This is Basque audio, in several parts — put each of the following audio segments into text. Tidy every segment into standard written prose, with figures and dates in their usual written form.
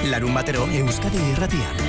Larunbatero Euskadi Irratian.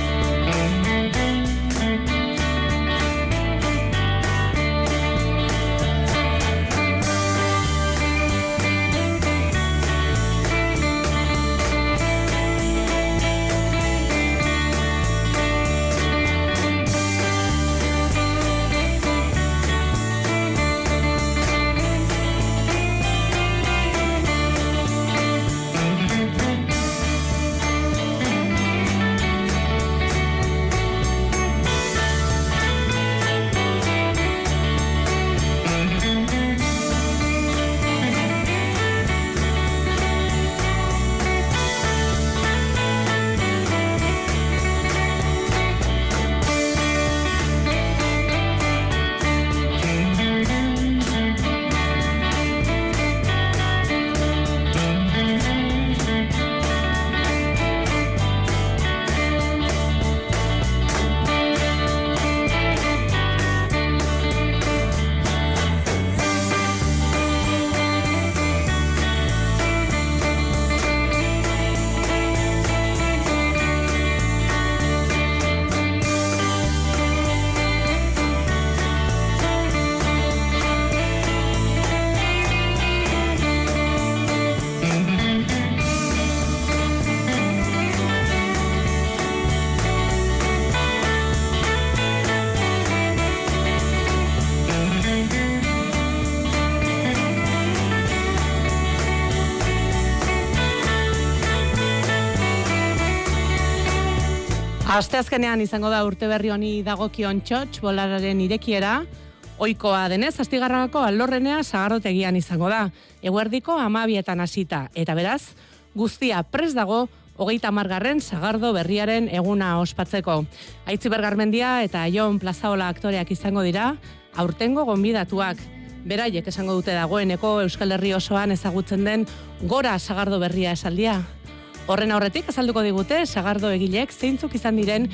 Asteazkenean izango da urte berri honi dagokion txotx bolararen irekiera, ohikoa denez, Astigarragako alorrenea sagardotegian izango da, eguerdiko 12etan hasita, eta beraz, guztia prest dago 30. sagardo berriaren eguna ospatzeko. Aitziber Garmendia eta Jon Plazaola aktoreak izango dira, aurtengo gonbidatuak. Beraiek esango dute dagoeneko Euskal Herri osoan ezagutzen den gora sagardo berria esaldia. Horren aurretik azalduko digute sagardo egilek zeintzuk izan diren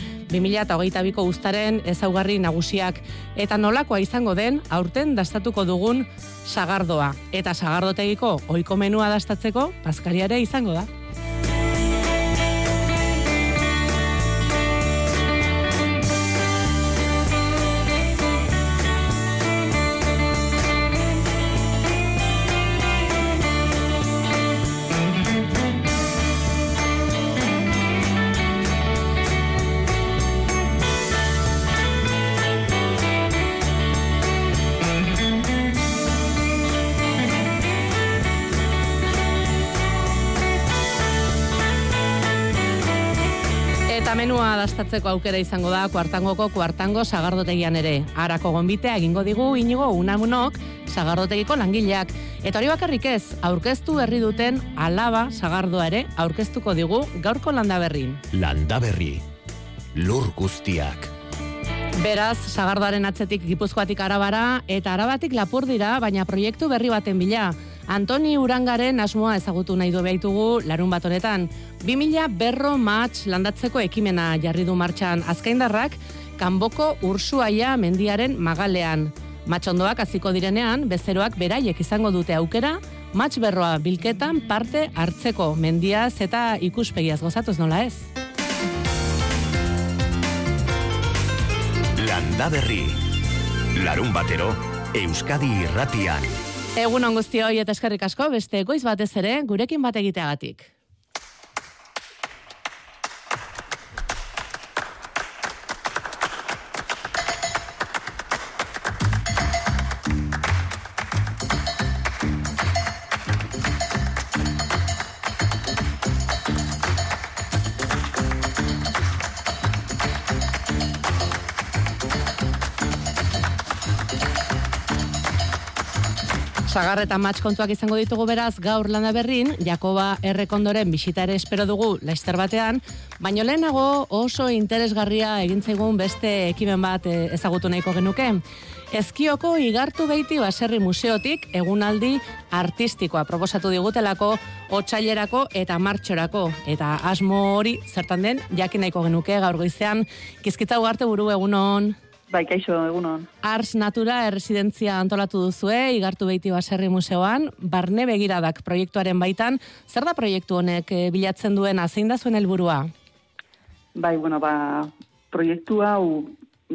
2022ko uztaren ezaugarri nagusiak eta nolakoa izango den aurten dastatuko dugun sagardoa. Eta sagardotegiko ohiko menua dastatzeko bazkariare izango da. Menua dastatzeko aukera izango da kuartangoko kuartango sagardotegian ere. Arako gonbitea egingo digu Inigo Unamunok sagardotegiko langileak. Eta hori bakarrik ez, aurkeztu berri duten alaba sagardoa ere aurkeztuko digu gaurko Landaberrin. Landaberri, lur guztiak. Beraz, sagardoaren atzetik Gipuzkoatik Arabara eta Arabatik Lapurdira, baina proiektu berri baten bila. Antoni Urangaren asmoa ezagutu nahi du behitugu larun bat honetan. 2000 berro mahats landatzeko ekimena jarri du martxan azkaindarrak, Kanboko Ursuaia mendiaren magalean. Matxondoak hasiko direnean, bezeroak beraiek izango dute aukera, mahats berroa bilketan parte hartzeko, mendiaz eta ikuspegiaz gozatuz nola ez. Landaberri, larun batero, Euskadi Irratian. Egun on guztioi eta eskerrik asko beste goiz batez ere gurekin bat egiteagatik. Sagar eta matx kontuak izango ditugu beraz gaur Landaberrin, Jakoba Errekondoren bisita ere espero dugu laster batean, baino lehenago oso interesgarria egin zaigun beste ekimen bat ezagutu nahiko genuke. Ezkioko Igartu Beiti Baserri Museotik egunaldi artistikoa proposatu digutelako otsailerako eta martxorako. Eta asmo hori zertan den jakin nahiko genuke gaur goizean. Kizkitza Ugarte buru egunon. Bai, kaixo, egunon. Ars Natura erresidentzia antolatu duzue, Igartu Beiti Baserri Museoan, barne begiradak proiektuaren baitan. Zer da proiektu honek bilatzen duena, zein da zuen helburua? Bai, proiektu hau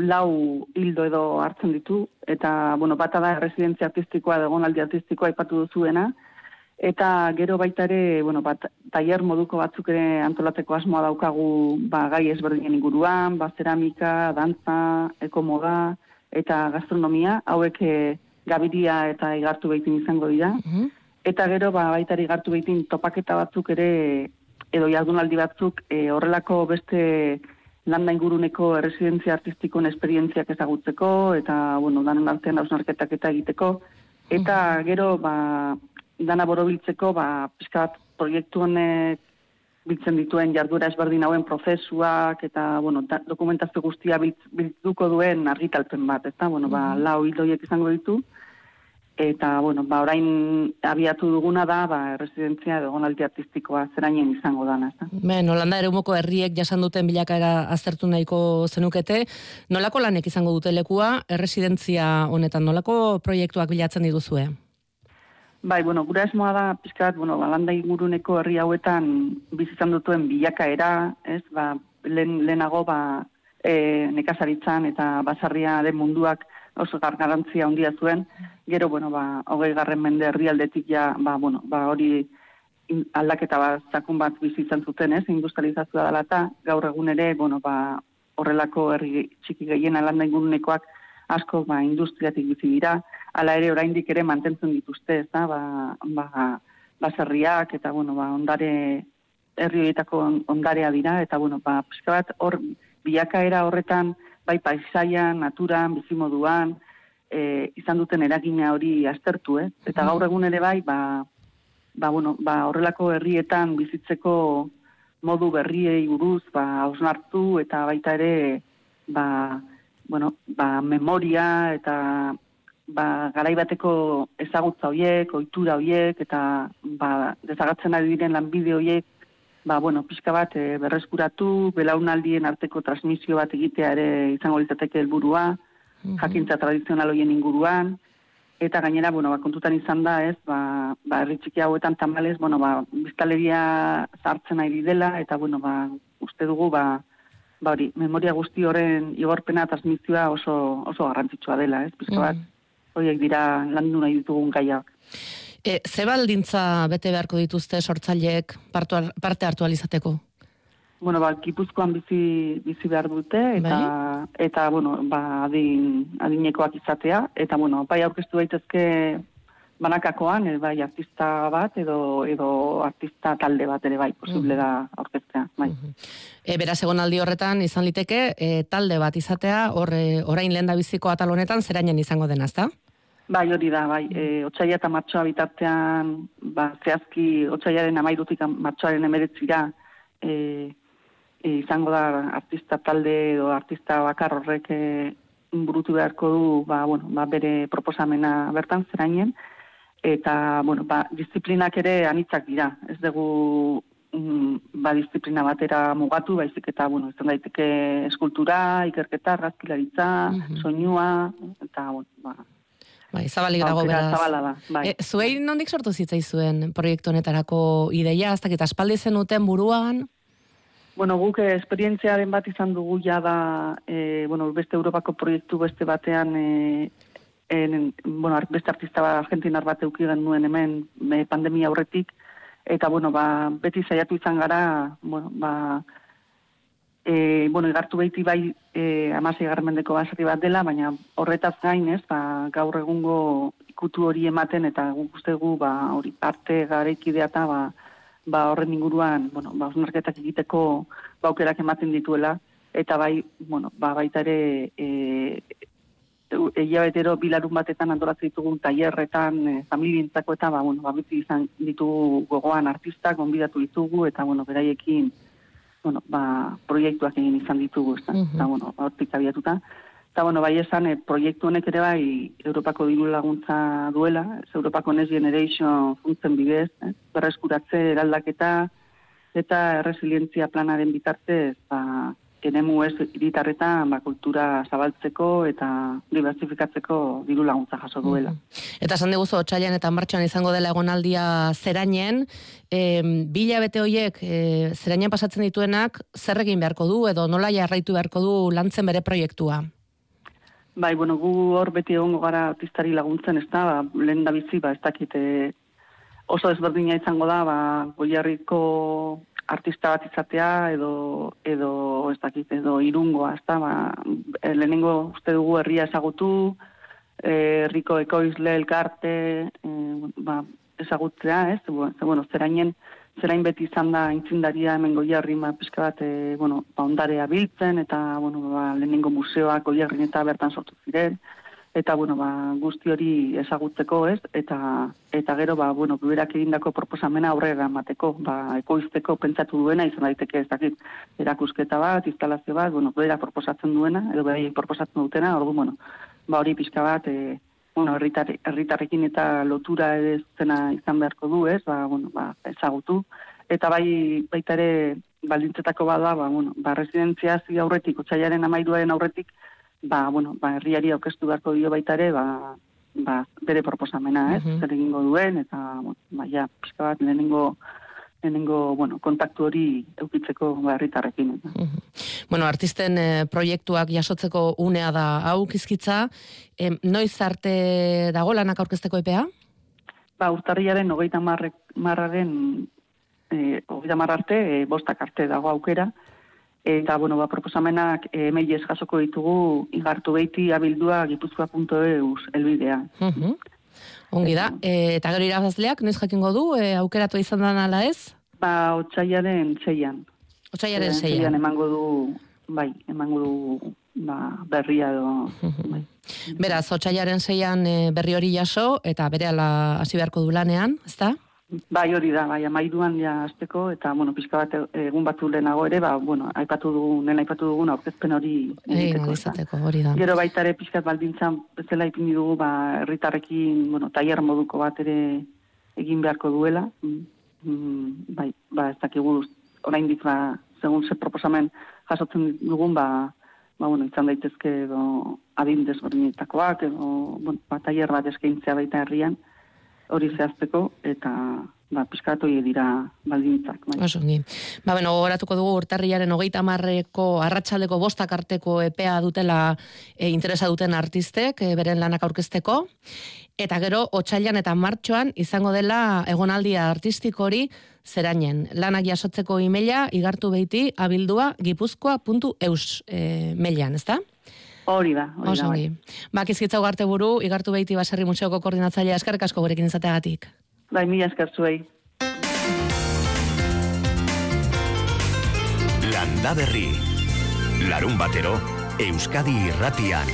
4 hildo edo hartzen ditu, eta, bata da erresidentzia artistikoa, egonaldi artistikoa aipatu duzuena, eta gero baita ere, tailer moduko batzuk ere antolateko asmoa daukagu, gai ezberdinen inguruan, zeramika, dantza, ekomoda, eta gastronomia, hauek Gabiria eta Igartu Beitin izango dira. Eta gero, baita ere Igartu Beitin topaketa batzuk ere, edo jardunaldi batzuk, horrelako beste landa inguruneko erresidentzia artistikoen esperientziak ezagutzeko, eta, danon artean hausnarketak eta egiteko, eta gero, dana borobiltzeko, pixka bat proiektu honek biltzen dituen jarduera ezberdin hauen prozesuak, eta, dokumentazio guztia bilduko duen argitalpen bat, eta, 4 hildoiek izango ditu, eta, orain abiatu duguna da, erresidentzia edo egonaldi artistikoa zerainen izango dana, ez da? Holanda eremoko herriek jasan duten bilakaera aztertu nahiko zenukete, nolako lanek izango dute lekua, erresidentzia honetan, nolako proiektuak bilatzen dituzue? Bai, gure asmoa da, pixka bat, landa inguruneko herri hauetan bizitzan dutuen bilakaera, ez, lehenago, nekazaritzan eta basarria den munduak oso garrantzia handia zuen, gero, 20. mende herrialdetik ja, hori aldaketa zakun bat bizitzan zuten, ez, industrializazioa dela eta gaur egun ere, horrelako herri txiki gehiena landa ingurunekoak asko, industriatik bizi dira, hala ere oraindik ere mantentzen dituzte, ez da, baserriak eta, ondare, herri horietako ondarea dira, eta, pixka bat, hor, bilakaera horretan, bai paisaian, naturan, bizimoduan, izan duten eragina hori aztertu, eta gaur egun ere bai, horrelako herrietan bizitzeko modu berriei buruz, hausnartu, eta baita ere, memoria, eta garaibateko ezagutza horiek, ohitura horiek, eta desagatzen ari diren lanbide horiek, pixka bat berreskuratu, belaunaldien arteko transmisio bat egitea ere izango litzateke helburua, jakintza tradizional horien inguruan, eta gainera, kontutan izan da, ez, herri txiki hauetan tamalez, biztanleria zahartzen ari dela, eta, uste dugu, hori, memoria guzti horren igorpena transmisioa oso garrantzitsua dela, ez, pixka bat, horiek dira landu nahi ditugun gaiak. Ze baldintza bete beharko dituzte sortzaileek parte hartu alizateko? Gipuzkoan bizi behar dute, eta adinekoak izatea, eta, bai aurkeztu daitezke banakakoan, bai artista bat, edo artista talde bat ere bai, posible da aurkeztea, bai. Beraz, egonaldi horretan izan liteke, talde bat izatea, orain lehendabiziko atal honetan, zerainen izango dena, ezta? Bai, hori da, bai. Otsaila eta martxoa bitartean, zehazki otsailaren 13-tik martxoaren 19-ra izango da artista talde edo artista bakar horrek burutu beharko du, bere proposamena bertan zerainen, eta, disiplinak ere anitzak dira. Ez dugu, disiplina batera mugatu, baizik eta, izan daiteke eskultura, ikerketa, argazkilaritza, soinua, eta, Bai, zabalik dago beraz. Zabala da, bai. Zuei nondik sortu zitzaizuen proiektu honetarako ideia, hasta que aspaldi zenuten buruan? Guk esperientziaren bat izan dugu ja da, beste Europako proiektu beste batean, beste artista argentinar bat euki genuen hemen pandemia aurretik, eta, beti saiatu izan gara, Igartu Beiti bai 16. mendeko baserri bat dela, baina horretaz gain, ez, gaur egungo ikutu hori ematen, eta guk uste gu, hori parte garaikidea eta, horren inguruan, hausnarketak egiteko aukerak ematen dituela, eta bai, baita ere, hilabetero bilarun batetan antolatzen ditugun tailerretan, familientzako eta, beti izan ditugu gogoan artistak, gonbidatu ditugu, eta, beraiekin, proiektuak egin izan ditugu, eta, hortik abiatuta. Eta, bai esan, proiektu honek ere bai Europako diru laguntza duela, Europako Next Generation funtzen bidez, berreskuratze eraldaketa eta erresilientzia planaren bitartez, eremu ez hiritarretan kultura zabaltzeko eta diversifikatzeko diru laguntza jaso duela. Eta esan diguzu otsailean eta martxoan izango dela egonaldia Zerainen, 2 hilabete horiek Zerainen pasatzen dituenak zer egin beharko du edo nola jarraitu beharko du lantzen bere proiektua? Bai, bueno, gu hor beti egongo gara artistari laguntzen, ez da, lehen da bizi, ez dakit oso desberdina izango da, Goierriko artista bat izatea edo ez dakit, edo Irungoa, ez da, lehenengo uste dugu herria ezagutu, herriko ekoizle, elkarte, ezagutzea, ez? Bueno, Zerain beti izan da aintzindaria hemen Goierri, pixka bat, ondarea biltzen, eta, lehenengo museoak Goierrin eta bertan sortu ziren, eta, guzti hori ezagutzeko, ez? Eta gero, berak egindako proposamena aurrera emateko, ekoizteko pentsatu duena, izan daiteke ez dakit, erakusketa bat, instalazio bat, bera proposatzen duena, edo bera proposatzen dutena, ordu, hori pixka bat, herritarrekin eta lotura ere zena izan beharko du, ez? Ezagutu. Eta baita ere, baldintzetako bada, residenziazio aurretik, otsailaren 13 aurretik, herriari aurkeztu beharko dio baita ere, bere proposamena, ez? Zer egingo duen, eta, pixka bat, lehenengo kontaktu hori eukitzeko herritarrekin. Artisten proiektuak jasotzeko unea da hau Kizkitza, noiz arte dago lanak aurkezteko epea? Urtarrilaren 30 arte, 5 arte dago aukera, eta, proposamenak mailez jasoko ditugu igartu beiti abildua gipuzkoa.eus elbidea. Ongi da, eta gero irabazleak, noiz jakingo du, aukeratu izan den ala ez? Otsailaren 6an. Otsailaren 6an. Emango du berria edo. Beraz, otsailaren 6an berri hori jaso, eta berehala hasi beharko du lanean, ezta? Bai, hori da, 13an ja hasteko, eta, pixka bat egun batzu lehenago ere, aipatu dugun aurkezpen hori egiteko, hori da. Gero baita ere pixka baldintzan bezala ipini dugu, herritarrekin, tailer moduko bat ere egin beharko duela. Ez dakigu, oraindik, segun ze proposamen jasotzen dugun, izan daitezke adin desberdinetakoak, edo, tailer bat eskaintzea baita herrian, hori zehazteko, eta pixkatu dira baldintzak. Osongi. Gogoratuko dugu urtarrilaren 30ko arratsaldeko 5 arteko epea dutela interesa duten artistek, beren lanak aurkezteko, eta gero otsailean eta martxoan izango dela egonaldia artistiko hori Zerainen. Lanak jasotzeko emaila igartu beiti abildua gipuzkoa.eus mailan, ezta? Hori da. Osongi. Kizkitza Ugarte buru, igartu beiti Baserri Museoko koordinatzailea, eskerrik asko gurekin izateagatik. Mila esker zuei. Landa Berri. Larun batero, Euskadi Irratian.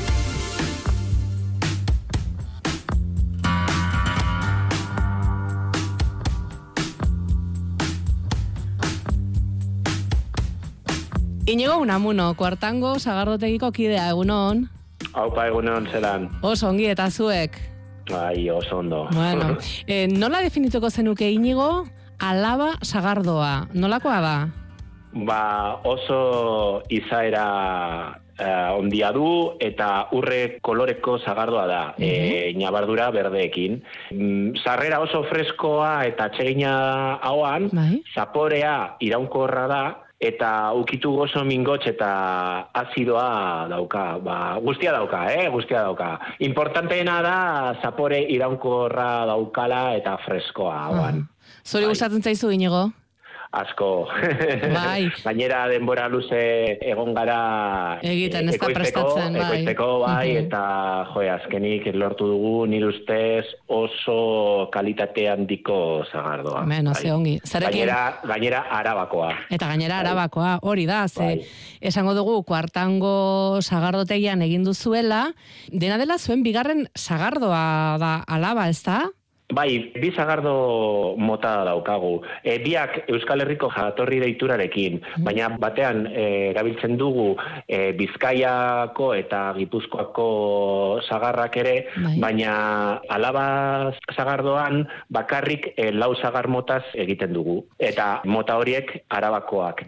Iñigo Unamuno, Kuartango Sagardotegiko kidea, egunon. Aupa, egunon, zelan. Oso ongi, eta zuek? Bai, oso ondo. Bueno, nola definituko zenuke Iñigo Alaba Sagardoa? Nolakoa da? Oso izaera ondia du eta urre koloreko sagardoa da, nabardura berdeekin. Sarrera oso freskoa eta atsegina hauan, zaporea iraunkorra da, eta ukitu gozo mingotx eta azidoa dauka. Guztia dauka. Importanteena da zapore iraunkorra daukala eta freskoa hauan. Zuri gustatzen zaizu, Iñigo? Asko. Bai. Gainera denbora luze egon gara egiten, ez da prestatzen, ekoizteko, eta azkenik lortu dugu nire ustez oso kalitate handiko zagardoa. Ze ongi. Gainera Arabakoa. Eta gainera Arabakoa, hori da, esango dugu Kuartango sagardotegian egin duzuela, dena dela zuen bigarren sagardoa da Alaba, ez da? Bai, bi sagardo mota daukagu. Biak Euskal Herriko jatorri deiturarekin, baina batean erabiltzen dugu Bizkaiako eta Gipuzkoako sagarrak ere, baina Alaba sagardoan bakarrik 4 sagar motaz egiten dugu. Eta mota horiek Arabakoak dira.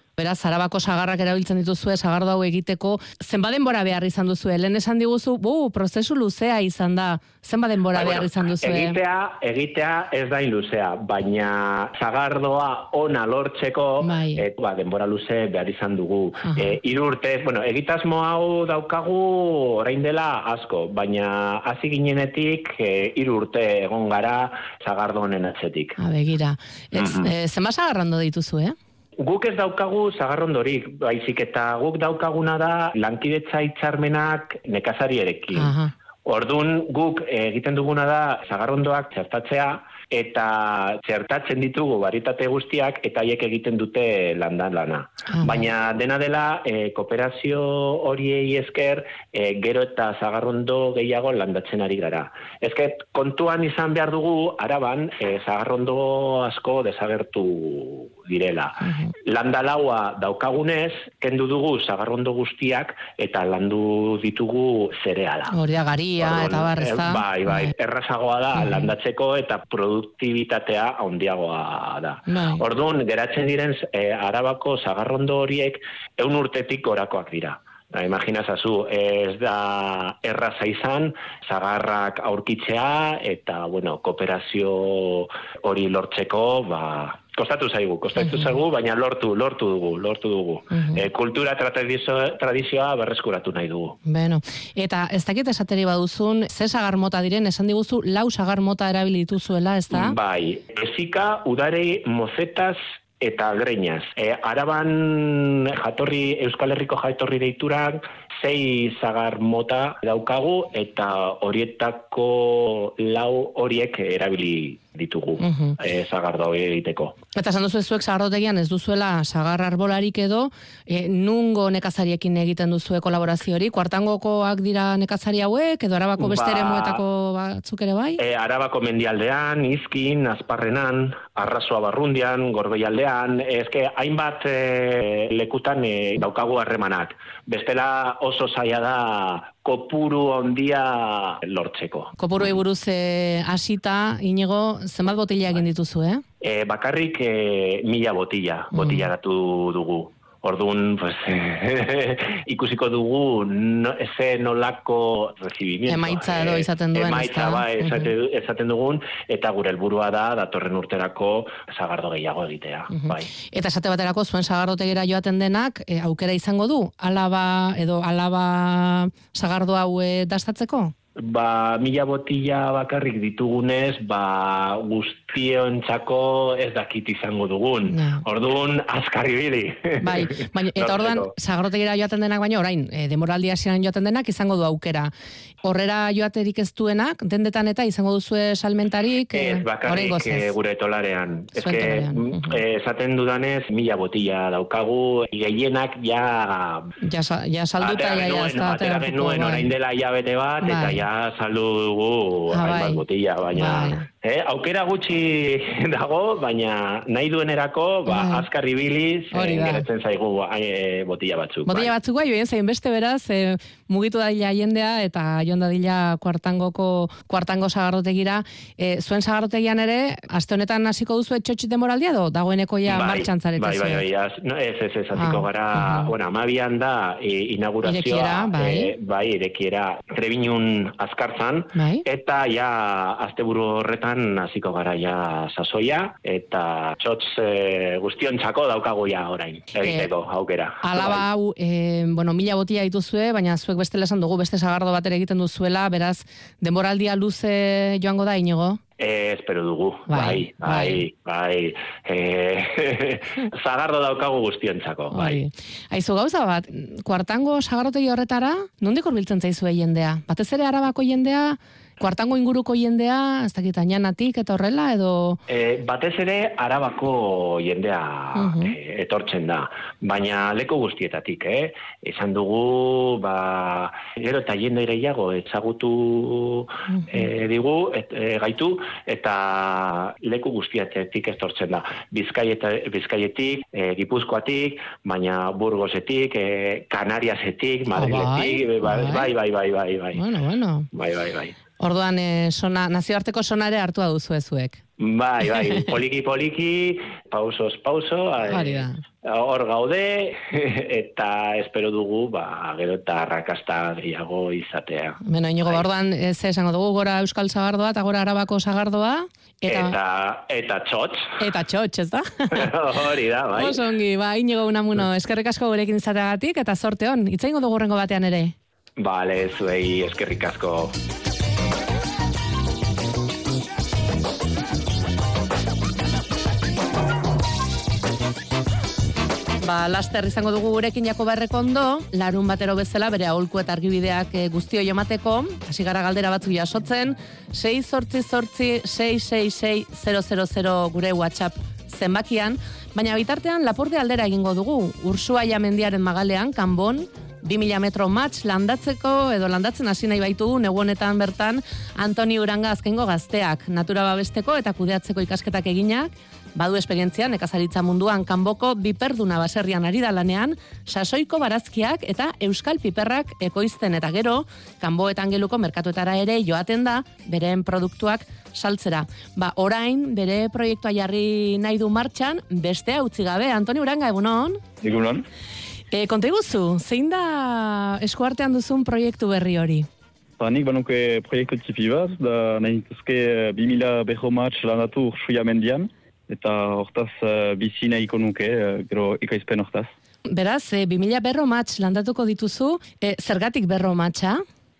Beraz, Arabako sagarrak erabiltzen dituzue, sagardo hau egiteko, zenbat denbora behar izan duzue? Lehen esan diguzu, prozesu luzea izan da, zenbat denbora behar izan duzue? Egitea ez da luzea, baina sagardoa ona lortzeko, denbora luze behar izan dugu. 3 urte, egitasmo hau daukagu orain dela asko, baina hasi ginenetik 3 urte egon gara sagardo honen atzetik. Begira, zenbat sagarrondo dituzu, Guk ez daukagu sagarrondorik, baizik eta guk daukaguna da lankidetza hitzarmenak nekazarierekin. Orduan guk egiten duguna da sagarrondoak txertatzea, eta txertatzen ditugu baritate guztiak, eta haiek egiten dute landan lana. Baina dena dela, kooperazio horiei esker, gero eta sagarrondo gehiago landatzen ari gara. Ezket, kontuan izan behar dugu, Araban, sagarrondo asko desagertu direla. Landalaua daukagunez, kendu dugu sagarrondo guztiak, eta landu ditugu zereala. Horia garia, eta barreza. Bai, errazagoa da landatzeko, eta produktibitatea handiagoa da. Orduan, geratzen diren Arabako sagarrondo horiek 100 urtetik gorakoak dira. Imaginazazu, ez da erraza izan, sagarrak aurkitzea, eta, kooperazio hori lortzeko, kostatu zaigu, baina lortu dugu. Kultura tradizioa berreskuratu nahi dugu. Eta ez dakit esateri baduzun, ze sagar mota diren, esan diguzu, 4 sagar mota erabili dituzuela, ez da? Bai, ezika, udare, mozetaz, eta greñas. Araban Euskal Herriko jatorri deiturak 6 sagar mota daukagu, eta horietako 4 horiek erabili ditugu sagardo egiteko. Eta esan duzu zuek sagardotegian ez duzuela sagar arbolarik edo, nungo nekazariekin egiten duzue kolaborazio hori? Kuartangokoak dira nekazari hauek, edo Arabako beste eremuetako batzuk ere bai? Arabako mendialdean, Izkin, Azparrenan, Arrasoa Barrundian, Gorbeialdean, hainbat lekutan daukagu harremanak. Bestela oso zaila da kopuru handia lortzeko. Kopuru buruz hasita, Inigo, zenbat botila egin dituzu, Bakarrik 1000 botilaratu dugu. Orduan, ikusiko dugu ze nolako recibimiento. Emaitza edo izaten duen. Ezaten dugun, eta gure helburua da, datorren urterako sagardo gehiago egitea. Eta esate baterako, zuen sagardotegira joaten denak, aukera izango du, alaba sagardo hau dastatzeko? 1000 botila bakarrik ditugunez, guztiontzako ez dakit izango dugun. Orduan, azkar ibili. Eta orduan, sagardotegira joaten denak baino, orain, denboraldi hasieran joaten denak izango du aukera. Horrera joaterik ez duenak, dendetan eta izango duzue salmentarik? Ez, bakarrik gure tolarean. Esaten dudanez, 1000 botila daukagu, gehienak ja salduta, atera genuen orain dela hilabete bat, eta ja saldu dugu hainbat botila, baina aukera gutxi dago, baina nahi duenerako azkar ibiliz geratzen zaigu botila batzuk. Botila batzuk joan zain beste beraz, mugitu dadila jendea eta joan dadila kuartango sagardotegira. Zuen sagardotegian ere, aste honetan hasiko duzu etxotxit demoraldia do? Dagoeneko ja martxan zarete zuen? Ez, hasiko gara, 12an da inaugurazioa, irekiera Trebinun azkartzan, eta ja asteburu horretan hasiko gara ja sasoia, eta txotz guztiontzako daukagu ja orain, egiteko aukera. Alaba hau, 1000 botila dituzue, baina zuek bestela esan dugu, beste sagardo bat ere egiten duzuela, beraz, denboraldia luze joango da, Inigo? Espero dugu, bai. Zagardo daukagu guztiontzako, bai. Aizu gauza bat, kuartango sagarrotegi horretara, nondik hurbiltzen zaizue jendea? Batez ere Arabako jendea, kuartango inguruko jendea, ez dakit Añanatik eta horrela, edo? Batez ere Arabako jendea etortzen da, baina leku guztietatik, esan dugu, gero eta jende gehiago ezagutu gaitu, eta leku guztietatik etortzen da. Bizkaietik, Gipuzkoatik, baina Burgosetik, Kanariasetik, Madriletik, bai. Bueno. Bai. Orduan, nazioarteko sonare hartua duzu ezuek. Bai, poliki, pausos, hor gaude, eta espero dugu, gero eta arrakasta gehiago izatea. Beno, Inigo, orduan, esango dugu, gora Euskal Sagardoa, eta gora Arabako Sagardoa. Eta txotx. Eta txotx, ez da? Hori da, bai. Oso ongi, Inigo Unamuno, eskerrik asko gurekin izateagatik, eta sorte hon, itzaingo dugu horrengo batean ere. Bale, zuei, eskerrik asko. Laster izango dugu gurekin Jakoba Errekondo, larun batero bezala bere aholku eta argibideak guztio jomateko, hasi gara galdera batzuk jasotzen, 688-666-000 gure WhatsApp zenbakian, baina bitartean Lapurde aldera egingo dugu, Ursuaia mendiaren magalean, Kanbon, 2000 metro match landatzeko edo landatzen hasi nahi baitu negu honetan bertan Antoni Uranga azkengo gazteak, natura babesteko eta kudeatzeko ikasketak eginak, badu esperientzia nekazaritza munduan Kanboko biperduna baserrian ari da lanean, sasoiko barazkiak eta euskal piperrak ekoizten eta gero, Kanboetan geluko merkatuetara ere joaten da bereen produktuak saltzera. Orain, bere proiektua jarri nahi du martxan, bestea utzi gabe. Antoni Uranga, egunon? Egunon. Konta iguzu, zein da eskuartean duzun proiektu berri hori? Nik banuke proiektu tipi bat, da nahi dituzke 2000 berro match landatu Ursuia mendian, eta hortaz bizi nahiko nuke, gero ikaizpen hortaz. Beraz, 2000 berro match landatuko dituzu, zergatik berro matcha?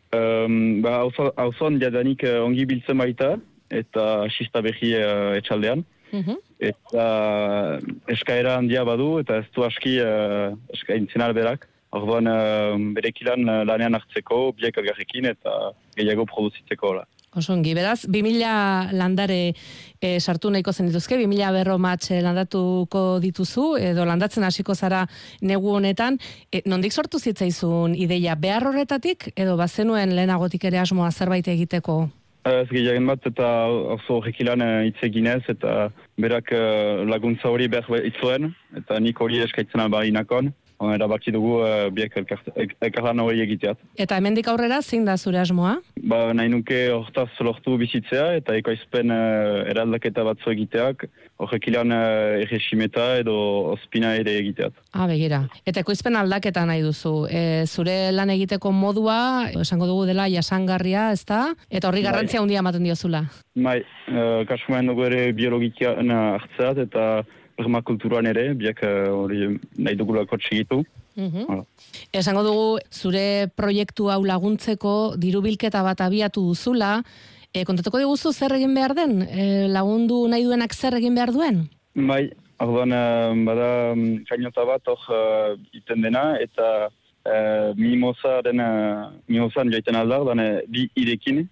Hauzoan jadanik ongi biltzen baita, eta xista berri etxaldean. Eta eskaera handia badu, eta ez du aski eskaintzen alberak. Orduan berekilan lanean hartzeko, biak elgarrekin, eta gehiago produzitzeko. Osongi, beraz, 2000 landare sartu nahiko zen dituzke, 2000 berro match landatuko dituzu, edo landatzen hasiko zara negu honetan. Nondik sortu zitzaizun ideia, behar horretatik, edo bazenuen lehenagotik ere asmoa zerbait egiteko? Ez gehiagen bat, eta oso horrekilan hitz eginez, eta berak laguntza hori behar itzuen, eta nik hori eskaitzen albainakon. Erabaki dugu biek elkarlan hori egiteat. Eta hemendik aurrera zein da zure asmoa? Nahi nuke hortaz lortu bizitzea eta ekoizpen eraldaketa batzu egiteak, horrekilan erresimeta edo ospina ere egiteat. Begira. Eta ekoizpen aldaketa nahi duzu. Zure lan egiteko modua, esango dugu dela jasangarria, ezta? Eta horri garrantzia handia ematen diozula. Kasumen dugu ere biologikian hartzeat eta permakulturan ere, biak hori nahi dugulako txigitu. Esango dugu, zure proiektu hau laguntzeko dirubilketa bat abiatu duzula, kontatuko diguzu zer egin behar den? Lagundu nahi duenak zer egin behar duen? Orduan bada kainota bat hor iten dena, eta mimosan joiten aldar, bi irekin,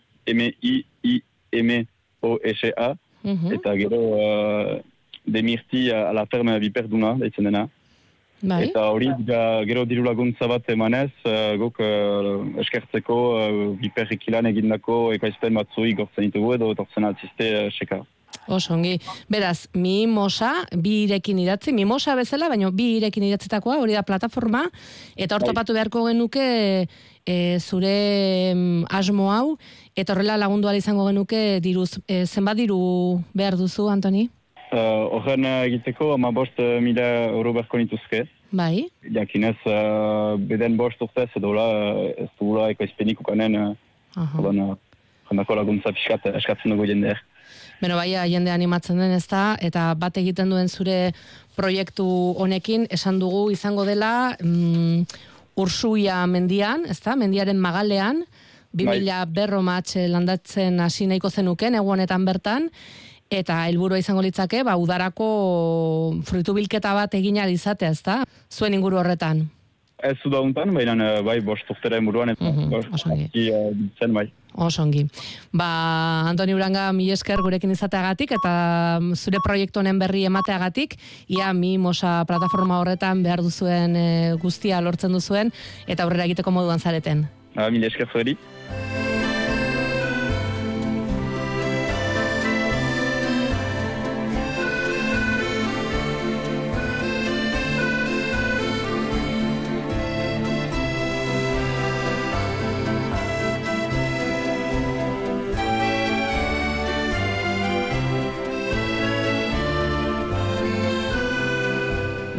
M-I-I-M-O-S-A, eta gero demirti a la ferme biperduna, daitzen dena. Eta hori, gero diru laguntza bat emanez, guk eskertzeko biperrekilan egindako ekaizpen batzui gortzen ditugu edo etortzen altzizte seka. Osongi. Beraz, Mimosa, bi irekin idatzi, Mimosa bezala, baina bi irekin idatzitakoa, hori da plataforma, eta hor topatu beharko genuke zure asmo hau, eta horrela lagundu ahal izango genuke diruz. Zenbat diru behar duzu, Antoni? Horren egiteko 15.000 euro beharko nituzke. Bai. Jakinez, beden bost urtez edo ez dugula ekoizpenik ukanen, jendako laguntza pixkat eskatzen dugu jendeak. Beno, jende animatzen den ez da, eta bat egiten duen zure proiektu honekin, esan dugu izango dela Ursuia mendian, ez da, mendiaren magalean, 2000 berro match landatzen hasi nahiko zenuken, egu honetan bertan, eta helburua izango litzake, udarako fruitu bilketa bat egina izatea, ez da? Zuen inguru horretan. Ez zu dauntan, baina bai, bost urtera inburuan, eta biltzen bai. Osongi. Antoni Uranga, mil esker gurekin izateagatik, eta zure proiektu honen berri emateagatik, ia Mimosa plataforma horretan behar duzuen guztia lortzen duzuen, eta aurrera egiteko moduan zareten. Mil esker zueri.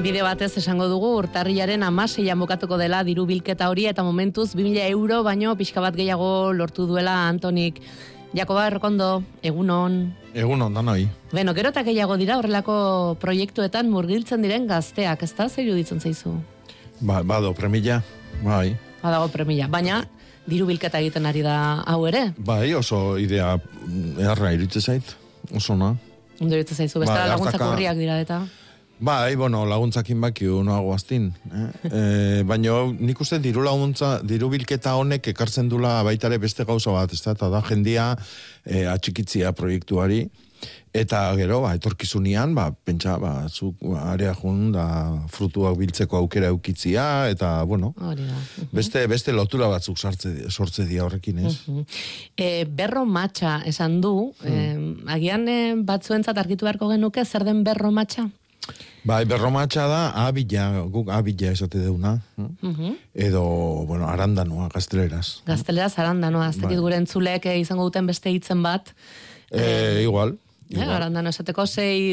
Bide batez esango dugu, urtarrilaren 16an bukatuko dela diru bilketa hori, eta momentuz 2.000 euro baino pixka bat gehiago lortu duela Antonik. Jakoba, errokondo, egunon. Egunon, danoi. Beno, gero eta gehiago dira horrelako proiektuetan murgiltzen diren gazteak, ez da? Zer iruditzen zaizu? Bado, premilla, bai. Badago premilla, baina diru bilketa egiten ari da hau ere? Bai, oso idea eharra iritze zait, oso na. Ondo iritze zaizu, bestela laguntzak urriak dira eta... Bai, laguntzakin baki noago aztin. Baina nik uste diru bilketa honek ekartzen dula baitare beste gauza bat, ez da, eta da jendia atxikitzia proiektuari, eta gero, etorkizunian, pentsa, zuk area jun, da frutuak biltzeko aukera eukitzia, eta, bueno, beste lotura batzuk sortze dia horrekin, ez? Berro matxa esan du, agian batzuentzat argitu beharko genuke, zer den berro matxa? Bai, berromatxa da, guk abila esate deuna, edo, arandanoa, gazteleraz. Gazteleraz, arandanoa, ez dakit gure entzulek izango duten beste hitzen bat. Igual. Arandano esateko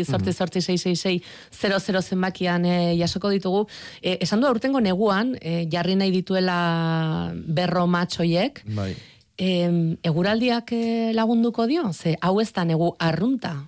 6-666-00 zenbakian jasoko ditugu. Esan du aurtengo neguan, jarri nahi dituela berromatxoiek, eguraldiak lagunduko dio? Ze, hau ez da negu arrunta?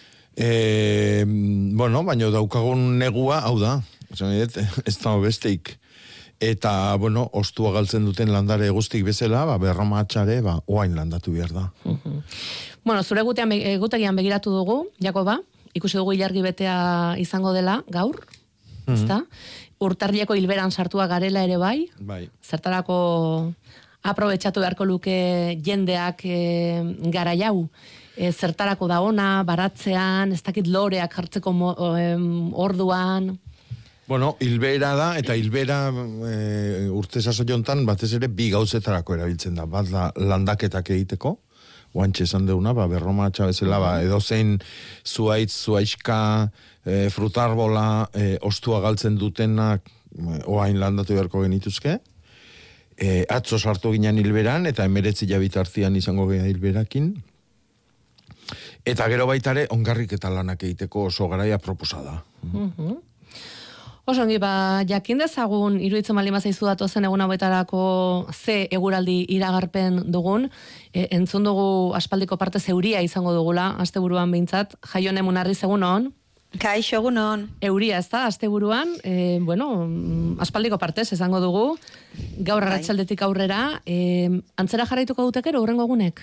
Baina daukagun negua, hau da, ez da besteik. Eta, ostua galtzen duten landare guztik bezala, berromatxare, oain landatu behar da. Zure egutegian begiratu dugu, Jakoba, ikusi dugu ilargi betea izango dela, gaur, ezta? Urtarrileko hilberan sartua garela ere bai, zertarako aprobetxatu beharko luke jendeak gara jau, zertarako da ona, baratzean, ez dakit loreak jartzeko orduan... Hilbera da, eta hilbera urte saso jontan batez ere bi gauzetarako erabiltzen da. Bat da landaketak egiteko, oantxe esan deuna, berromatxa bezala, edozein zuaitz, zuaizka, frutarbola, ostua galtzen dutenak, oain landatu beharko genituzke. Atzo sartu ginen hilberan, eta 19 bitartian izango geha hilberakin. Eta gero baitare, ongarrik eta lanak egiteko oso garaia proposada. Osongi, jakin dezagun, iruditzen baldin bazaizu datozen egun hauetarako ze eguraldi iragarpen dugun, entzun dugu aspaldiko parte zeuria izango dugula, asteburuan behintzat, Jaione Munarriz egunon. Kaixo egunon. Euria ez da, asteburuan, aspaldiko partez izango dugu, gaur arratsaldetik aurrera, antzera jarraituko dutekero, hurrengo egunek?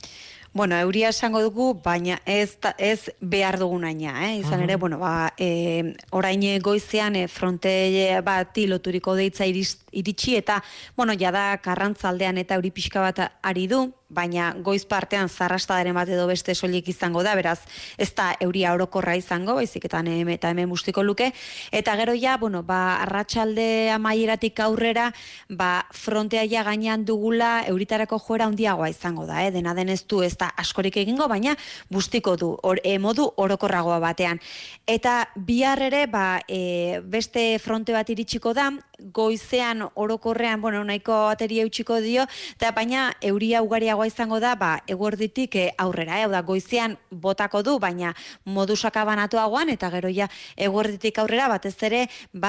Euria esango dugu, baina ez behar dugunaina, izan ere, orain goizean fronte bati loturiko deitza iritsi, eta, jada Karrantzaldean eta euri pixka bat ari du, baina goiz partean zarrastadaren bat edo beste soilik izango da, beraz, ez da euria orokorra izango, baizik eta hemen bustiko luke, eta gero arratsalde amaieratik aurrera, frontea ja gainean dugula euritarako joera handiagoa izango da, dena denez du ez da askorik egingo, baina bustiko du, modu orokorragoa batean. Eta bihar ere, beste fronte bat iritsiko da, goizean orokorrean, nahiko ateria eutxiko dio, eta baina euria ugariagoa izango da, eguerditik aurrera, hau da, goizean botako du, baina modu sakabanatuagoan, eta gero ja eguerditik aurrera, batez ere,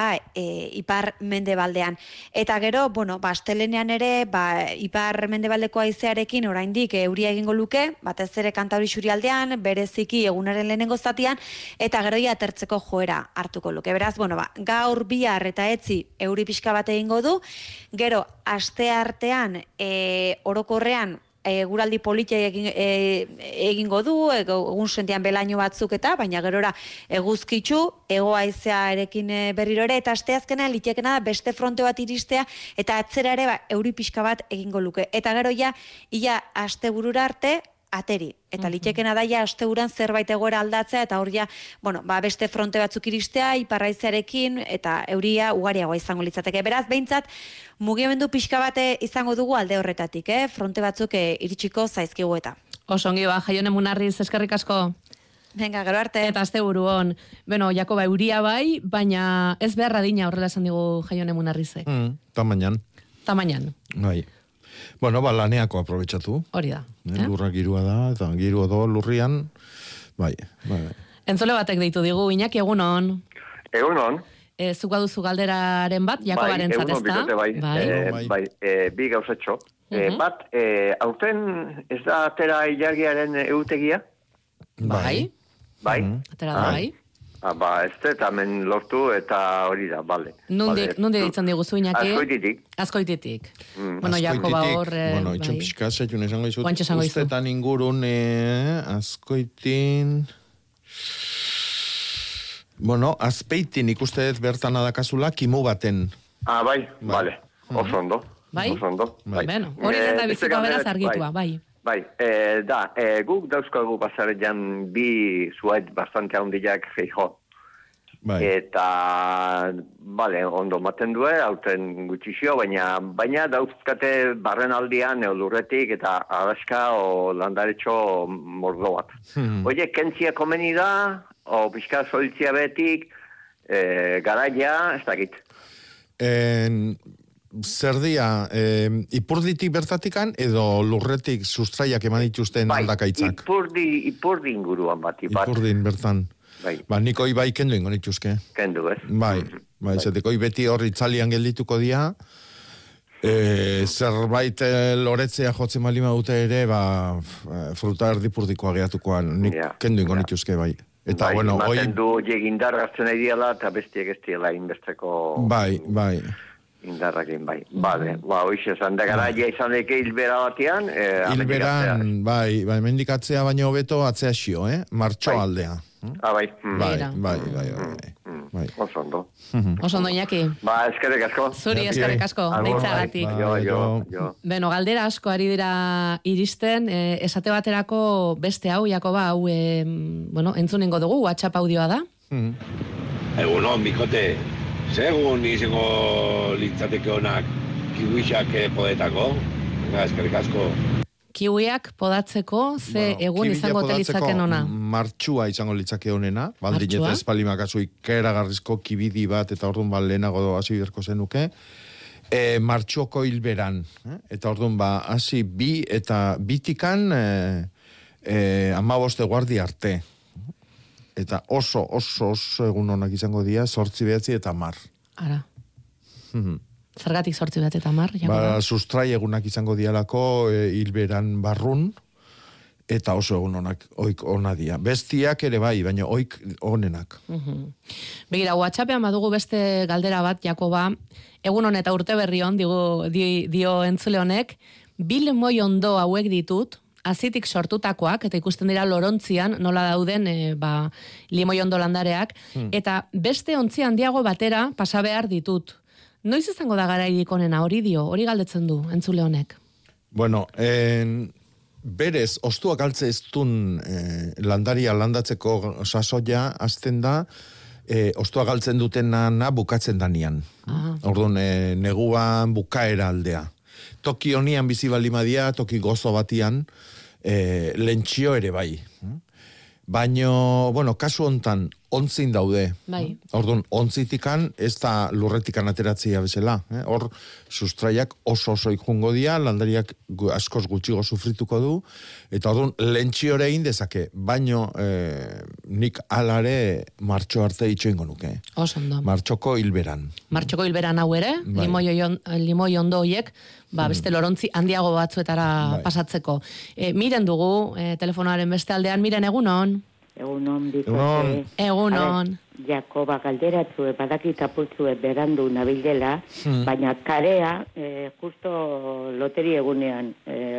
ipar mendebaldean. Eta gero, astelenean ere, ipar mendebaldeko haizearekin oraindik euria egingo luke, batez ere Kantauri Xurialdean, bereziki egunaren lehenengo zatian, eta gero ja atertzeko joera hartuko luke. Beraz, gaur bihar eta etzi euri pixka bat egingo du, gero aste artean orokorrean eguraldi politia egingo du, egun sentean belaino batzuk eta, baina gerora eguzkitzu, ego haizearekin berriro ere, eta asteazkenean litekena da beste fronte bat iristea, eta atzera ere euri pixka bat egingo luke. Eta gero ia asteburura arte, ateri. Eta litekena daia asteburan zerbait egoera aldatzea, eta hor ja, beste fronte batzuk iristea, iparraizearekin, eta euria ugariagoa izango litzateke. Beraz, behintzat, mugimendu pixka bate izango dugu alde horretatik, fronte batzuk iritsiko zaizkigu eta. Osongi, Jaione Munarriz, eskerrik asko. Venga, gero arte. Eta asteburu hon. Jakoba, euria bai, baina ez beharra dina horrela esan digu Jaione Munarrizek. Tamainan. Bai. Laneako aprobetxatu. Hori da. Lurra girua da, eta girua do lurrian, bai. Entzole batek deitu digu, Iñaki, egunon. Egunon. zuk baduzu galderaren bat, Jakobaren zatezta. Bai, bi gauzatxo. Bat, aurten ez da atera ilargiaren eutegia? Bai. Atera da, bai. Ez da, hemen lortu eta hori da, bale. Nundik ditzen diguzu, Iñaki? Azkoititik. Bueno, Jakoba hor... Bueno, itxon pixka, zaitun esango izut. Ustetan ingurun, Azkoitin... Bueno, Azpeitin ikuste bertan adakazula, kimu baten. Bai, bale. Oso ondo. Bai? Bueno, hori da biziko beraz argitua, bai. Bai, guk dauzkagu basarean bi zuait bastante handiak Feijóo. Bai. Eta, bale, ondo maten du, hauten gutxixio, baina dauzkate barren aldian lurretik eta araska o landaretxo mordo bat. Oie, kentzia komeni da, o pixka soltzia betik, garaia, ez dakit. Zer dia, ipurditik bertatikan edo lurretik sustraiak eman dituzten aldakaitzak? Ipurdi inguruan bat. Ipurdin bertan. Bai. Niko bai kendu ingo nituzke. Kendu, ez? Bai, zeteko beti horri itzalian geldituko dia, zerbait loretzea jotzen balima dute ere, fruta erdipurdikoa gehiatukoan, nik kendu ingo nituzke, bai. Eta, bueno, maten du jegindar gartzen nahi diala, eta bestiek ez diela inbesteko... Bai. Indarrakin, bai. Bale, hoxe, zanda garaia izan deke hilbera batean... Hilberan, bai, mendikatzea baino hobeto atzea xio, Martxo aldea. Bai. Oso ondo, Iñaki. Eskerrik asko. Zuri, eskerrik asko, deitzagatik. Jo. Beno, galdera asko ari dira iristen, esate baterako beste hau, Jakoba, hau, entzunengo dugu, WhatsApp audioa da. Egunon, bikote. Segun izango litzateke honak kiwixak podetako. Eskerrik asko. Kiwiak podatzeko, egun izango telitzaken ona? Martxua izango litzake honena. Baldineta espalimakazui keragarrizko kibidi bat, eta orduan lehenago hasi berko zenuke. Martxuoko hilberan. Eta orduan hasi bi eta bitikan 15 guardi arte. Eta oso egun honak izango dira, 8, 9 eta 10. Ara. Zergatik 8, 9 eta 10? Sustrai egunak izango dialako hilberan barrun, eta oso egun honak oik ona dira. Bestiak ere bai, baina oik onenak. Begira, WhatsAppean badugu beste galdera bat, Jakoba, egun hon eta urte berri hon, dio entzule honek, bil moi ondo hauek ditut, azitik sortutakoak, eta ikusten dira lorontzian, nola dauden limoi ondo landareak, eta beste ontzi handiago batera pasa behar ditut. Noiz izango da garairik onena, hori galdetzen du, entzule honek? Bueno, berez, ostuak altze ez dun landaria landatzeko sasoia, azten da, ostuak altzen dutena bukatzen danian. Orduan, neguan bukaera aldea. Toki honian bizi balimadia, toki gozo batian, lentsio ere bai. Baino, kasu hontan, ontzin daude. Bai. Orduan, ontzitikan, ez da lurretikan ateratzea bezala. Hor, sustraiak oso ikungo dia, landariak askoz gutxigo sufrituko du, eta orduan, lentsio ere egin dezake, baino nik alare martxo arte itxoingo nuke. Osondo. Martxoko hilberan. Martxoko hilberan hau ere, limoi ondo hoiek, beste lorontzi handiago batzuetara pasatzeko. Miren dugu, telefonoaren beste aldean, miren egunon. Egunon, bikote. Egunon. Jakoba galderatzue, badakit apurtzue berandu nabilela, baina karea, justo loteri egunean,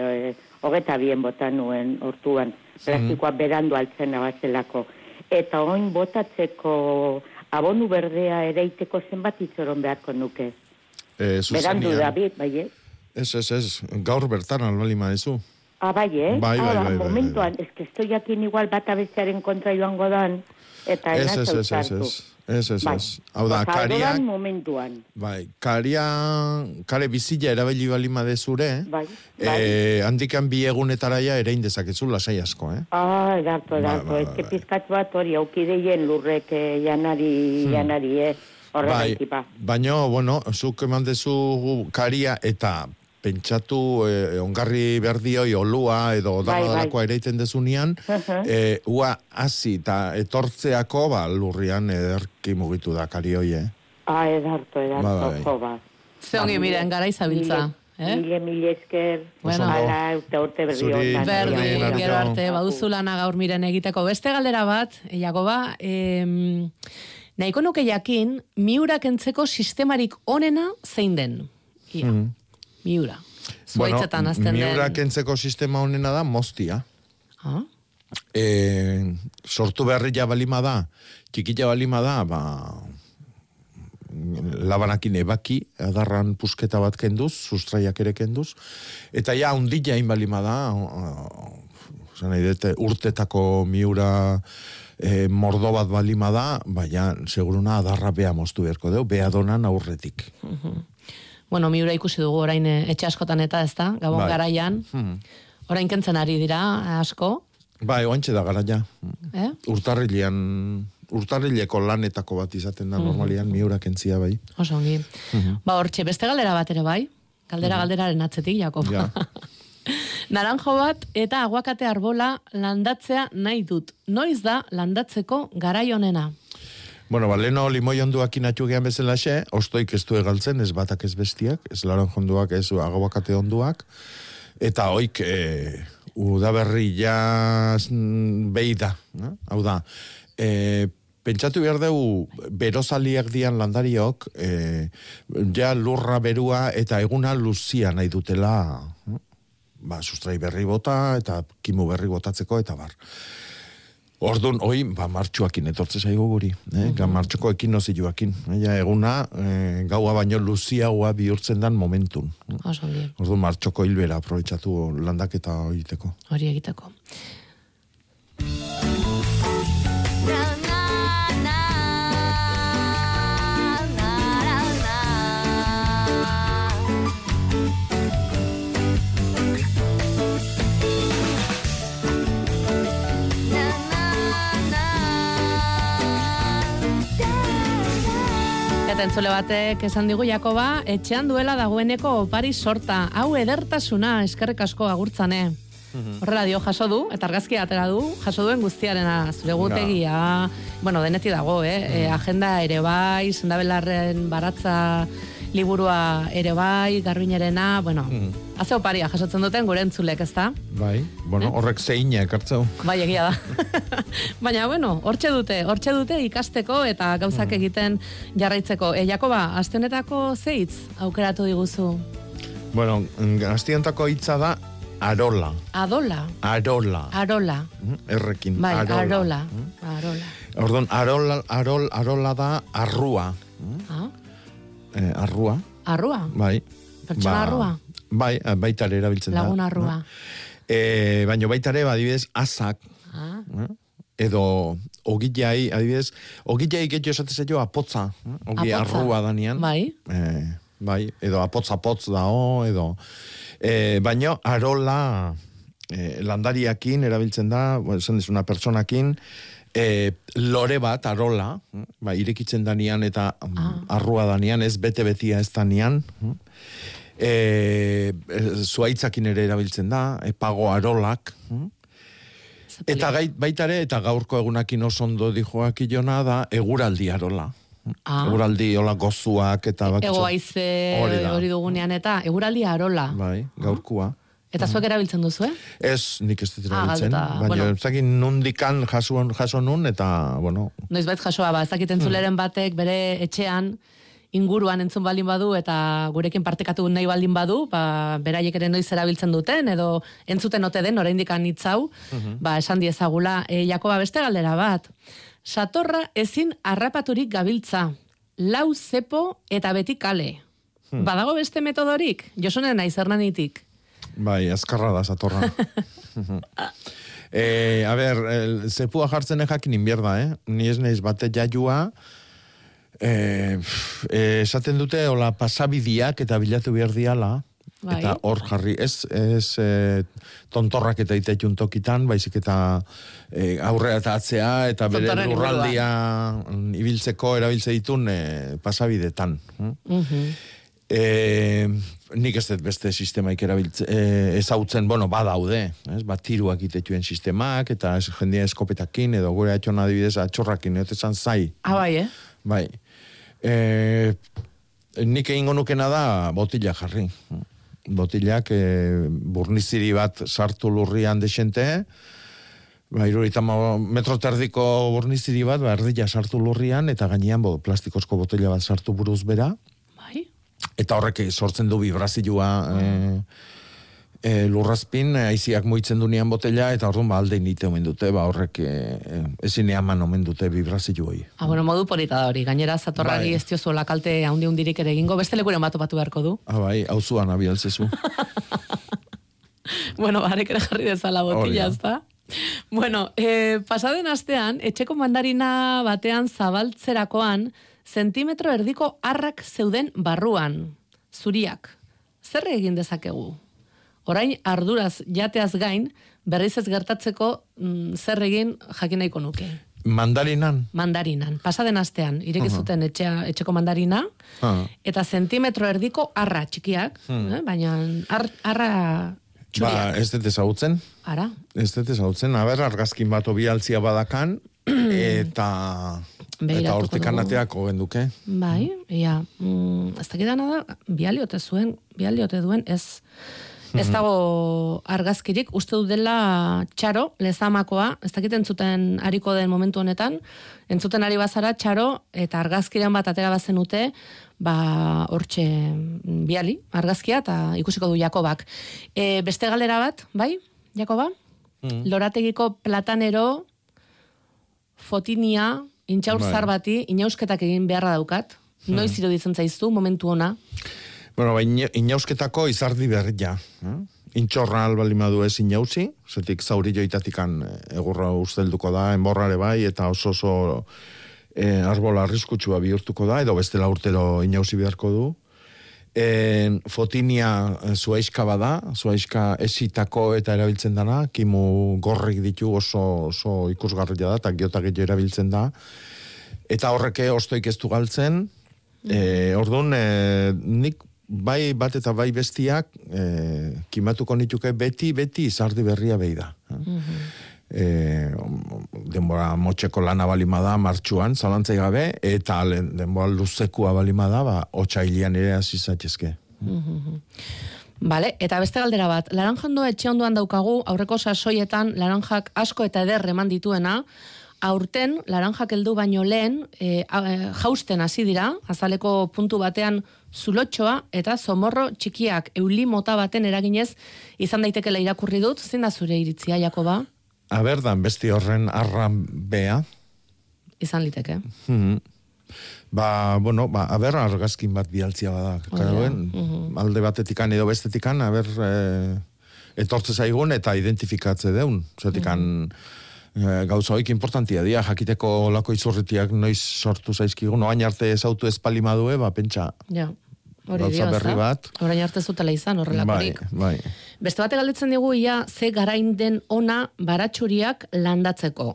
22 bota nuen hortuan, plastikoa berandu altzen abazelako. Eta oin botatzeko abonu berdea ereiteko zenbat itzoron beharko nuke. Berandu David, bai, Ez, gaur bertan albalima ezu. Bai, Bai. Momentuan, ez que estoy jakin igual bata bestearen kontra joango dan, eta enazau zartu. Ez. Hau da, kariak... momentuan. Bai, kare bizila erabili balima dezure, bai. Handikan bi egunetaraia ere indezakezu lasai asko, Edarto. Ez que pizkatu bat hori, aukideien lurrek janari, horregatik. Baina, zuk eman dezu karia eta pentsatu ongarri berdioi olua edo dalakoa ereiten dezunean, ua hasi eta etortzeako lurrian ederki mugitu da kari hoi, Edarto, jo, ba. Ze ongi miren, gara izabiltza. Mile esker, ala, urte berri honetan. Berdi, gero arte, baduzu lana gaur miren egiteko. Beste galdera bat, Jakoba, nahiko nuke jakin, miurak entzeko sistemarik onena zein den? Ia, miura. Zuaitzetan azten den. Miurak entzeko sistema onena da moztia. Sortu beharria balima da, txikila balima da, labanakin ebaki, adarran pusketa bat kenduz, sustraiak ere kenduz, eta ja, undila inbalima da, urtetako miura mordo bat balima da, baina, seguruna, adarra beha moztu beharko deu, beha donan aurretik. Bueno, miura ikusi dugu orain etxe askotan eta ez da, gabon garaian, orain kentzen ari dira, asko. Bai, oantxe da garaia. Urtarrileko lanetako bat izaten da normalian, miurak entzia bai. Oso ongi. Hortxe, beste galdera bat ere bai? Galderaren atzetik, Jakob. Naranjo bat eta aguakate arbola landatzea nahi dut. Noiz da landatzeko garai honena? Bueno, leno limoi onduak inatxu gehan bezala xe, ostoik ez du egaltzen, ez batak ez bestiak, ez naranjo onduak, ez aguakate onduak, eta oik udaberri jaz behi da. Hau da, pentsatu behar dugu berozaliak dian landariok, ja lurra berua eta eguna luzia nahi dutela, sustrai berri bota eta kimu berri botatzeko eta bar. Ordun, martxuakin etortze zaigu guri, martxuko ekin noziluakin. Eguna, gaua baino luziagoa bihurtzen dan momentun. Ordun, martxoko hilbera aprobetsatu landaketa egiteko. Hori egiteko. Entzule batek esan digu, Jakoba, etxean duela dagoeneko opari sorta. Hau edertasuna, eskerrik asko agurtzane. Horrela dio, jaso du, eta argazkia atera du, jaso duen guztiarena, zure gutegia, bueno, deneti dago, agenda ere bai, sendabelarren baratza liburua ere bai, garbinarena, bueno, haze oparia jasotzen duten gure entzulek, ez da? Bai, bueno, horrek zeina ekartzeu. Bai, egia da. Baina, bueno, hortxe dute ikasteko eta gauzak egiten jarraitzeko. Jakoba, aste honetako zeitz aukeratu diguzu? Bueno, aste honetako hitza da arola. Adola? Arola. Errekin, bai, arola. Ordon, arola da arrua. Arrua. Arrua? Bai. Pertsona arrua? Bai, baitare erabiltzen da. Lagun arrua. Baina baitare, adibidez, azak. Edo, ogillai, adibidez, ogillai getxo esatezaio apotza. Ogi arrua danian. Bai. Bai, edo apotz dao, edo. Baina, arola landariakin erabiltzen da, esan dizuna personakin, lore bat, arola, irekitzen danian eta arrua danian, ez bete-betia ez danian, zuaitzakin ere erabiltzen da, pago arolak, eta baitare, eta gaurko egunakin oso ondo dijoak ilona da, eguraldi arola. Eguraldi hola gozuak eta ego aize hori dugunean eta eguraldi arola. Bai, gaurkua. Eta zuek erabiltzen duzu, Ez, nik ez dut erabiltzen. Baina zakin nundikan jaso nun, eta, bueno. Noizbait jasoa, ez dakit entzuleren batek bere etxean inguruan entzun baldin badu, eta gurekin partekatu nahi baldin badu, beraiek ere noiz erabiltzen duten, edo entzuten ote den, oraindik anitzau, esan diezagula. Jakoba, beste galdera bat. Satorra ezin harrapaturik gabiltza. Lau zepo eta beti kale. Badago beste metodorik? Josunen naiz hernanitik. Bai, azkarra da, satorra. A ber, zepua jartzen jakin inbierda, Ni ez naiz bate jaiua, esaten dute, hola, pasabidiak eta bilatu behar diala, eta hor jarri, ez tontorrak eta itetxun tokitan, baizik eta aurrea eta atzea, eta bere lurraldia ibiltzeko erabiltze ditun pasabidetan. Nik ez dut beste sistemaik ezautzen, badaude, tiruak itetuen sistemak, eta jendia eskopetakin, edo gure atxon adibidez atxorrakin, eta esan zai. Bai, Bai. Nik egingo nukena da botila jarri. Botilak burniziri bat sartu lurrian desente, irurita metro terdiko burniziri bat, erdila sartu lurrian, eta gainean plastikozko botila bat sartu buruz bera. Bai. Eta horrek sortzen du vibrazioa lurrazpin, aiziak moitzen dunean botella, eta orduan aldein nite omen dute, horrek ezin eaman omen dute vibrazioa. Bueno, modu polita da hori, gainera zatorrari ez diozuela kalte handi-hundirik ere egingo, beste lekuren batu beharko du. Bai, hau zuan abialtzezu. Bueno, barek ere jarri dezala botilla, ezta? Bueno, pasaden astean, etxeko mandarina batean zabaltzerakoan, zentimetro erdiko arrak zeuden barruan, zuriak. Zer egin dezakegu? Orain arduraz jateaz gain, berriz ez gertatzeko zer egin jakin nahiko nuke. Mandarinan? Mandarinan. Pasaden astean, ireki zuten etxeko mandarina, eta zentimetro erdiko arra txikiak, baina arra txuriak. Ez dut ezagutzen. Ara? Ez dut ezagutzen. Argazkin bat obialtzia badakan, eta hortikan ateako genduke. Bai, ez dakidana da, bialiote duen, ez dago argazkirik, uste dut dela Txaro, Lezamakoa, ez dakiten zuten hariko den momentu honetan, entzuten ari bazara Txaro, eta argazkiren bat atera bazen ute, hortxe biali, argazkia, eta ikusiko du Jakobak. Beste galdera bat, bai, Jakoba? Lorategiko platanero, fotinia, intxaur zar bati, inausketak egin beharra daukat, noiz iruditzen zaizu, momentu ona? Bueno, inausketako izardi berria. Intxorra albalimadu ez inauzi, zetik zauri joitatikan egurra ustelduko da, enborrare bai, eta oso arbola arriskutsua bihurtuko da, edo bestela urtero inauzi beharko du. Fotinia zuaiska bada, zuaiska esitako eta erabiltzen dana, kimu gorrik ditu oso ikusgarria da, eta giotak erabiltzen da. Eta horreke ostoik ez du galtzen, orduan nik bai bat eta bai bestiak kimatuko nituke beti izardi berria behi da. Denbora motxeko lana balimada martxuan, zalantzai gabe, eta denbora luzekua balimada, otxailian ere azizatezke. Bale, eta beste galdera bat, laranjandoa etxe onduan daukagu, aurreko sasoietan laranjak asko eta eder eman dituena, aurten laranjak heldu baino lehen jausten hasi dira, azaleko puntu batean zulotxoa eta zomorro txikiak euli mota baten eraginez izan daitekela irakurri dut, zein da zure iritzia, Jakoba? Aberdan besti horren arran bea. Izan liteke. Aber argazkin bat bialtzia bada. Alde batetikan edo bestetikan, etortze zaigun eta identifikatze deun. Zetikan gauza hoik importantia dira, jakiteko lako izurritiak noiz sortu zaizkigun, oain arte ezautu espalimadue, pentsa gauza berri bat. Orain arte zutela izan, horrelakorik. Bai. Beste bate galdetzen digu, ze garain den ona baratxuriak landatzeko?